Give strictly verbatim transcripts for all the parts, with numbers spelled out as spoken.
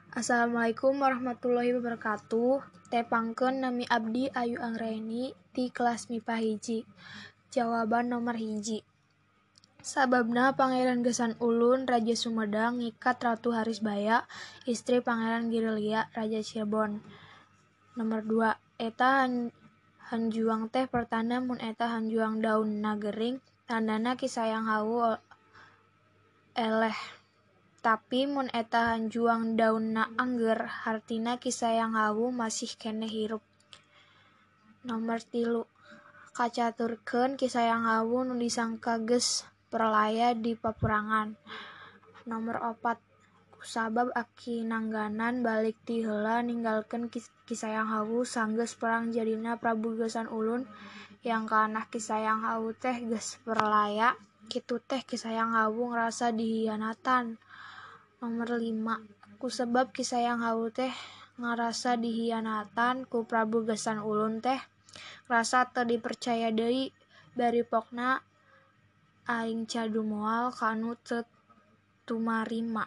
Assalamualaikum warahmatullahi wabarakatuh. Tepangkeun nami abdi Ayu Anggraeni ti kelas M I P A hiji. Jawaban nomor hiji. Sababna Pangeran Gesang Ulun Raja Sumedang ngikat Ratu Harisbaya, istri Pangeran Girilia Raja Cirebon. Nomor dua. Eta hanjuang teh pertanda mun eta hanjuang daunna gering, tandana Kisayang hawu eleh. Tapi mun eta hanjuang daunna angger, hartina Kisayang hawu masih keneh hirup. Nomor tilu. Kacaturkeun Kisayang hawu nu disangka geus perlaya di paperangan. Nomor opat. Kusabab aki nangganan balik ti heula ninggalkeun Kisayang hawu sanggeus perang jadina Prabu Gesang Ulun yang kana Kisayang hawu teh geus perlaya, kitu teh Kisayang hawu ngrasa dihianatan. Nomor lima. Kusabab Kisayang hawu teh ngarasa dihianatan ku Prabu Gesang Ulun teh ngrasa teu dipercaya deui, bari pokna aing cadu moal kanu teu tumarima.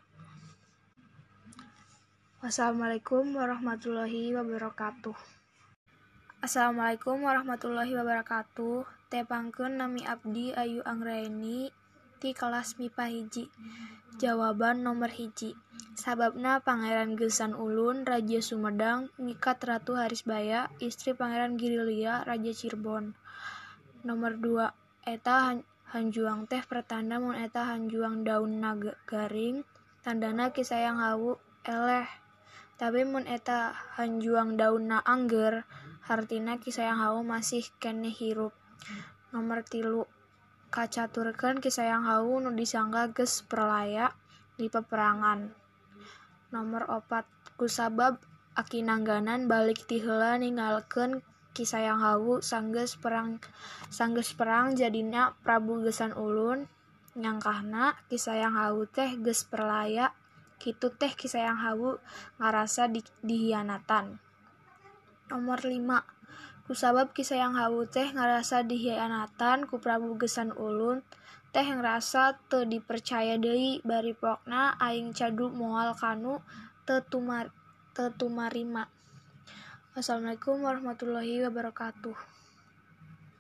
Wassalamualaikum warahmatullahi wabarakatuh. Assalamualaikum warahmatullahi wabarakatuh. Tepangkeun nami abdi Ayu Anggraeni ti kelas M I P A hiji. Jawaban nomor hiji. Sababna Pangeran Gesang Ulun Raja Sumedang ngikat Ratu Harisbaya, istri Pangeran Girilia Raja Cirebon. Nomor dua. Eta hanjuang teh pertanda mun eta hanjuang daunna garing, tandana Kisayang hawu eleh. Tapi mun eta hanjuang daunna angger, hartina Kisayang hawu masih keneh hirup. Nomor tilu. Kacaturkeun Kisayang hawu nu disangka geus perlaya di paperangan. Nomor opat. Kusabab aki nangganan balik ti heula ninggalkeun Kisayang hawu sanggeus perang sanggeus perang jadina Prabu Gesang Ulun nyangkahna Kisayang hawu teh geus perlaya, kitu teh Kisayang hawu ngarasa di, dihianatan. Nomor lima. Kusabab Kisayang hawu teh ngarasa dihianatan ku Prabu Gesang Ulun teh ngrasa teu dipercaya deui, bari pokna aing cadu moal kanu teu tumar teu tumarima. Wassalamualaikum warahmatullahi wabarakatuh.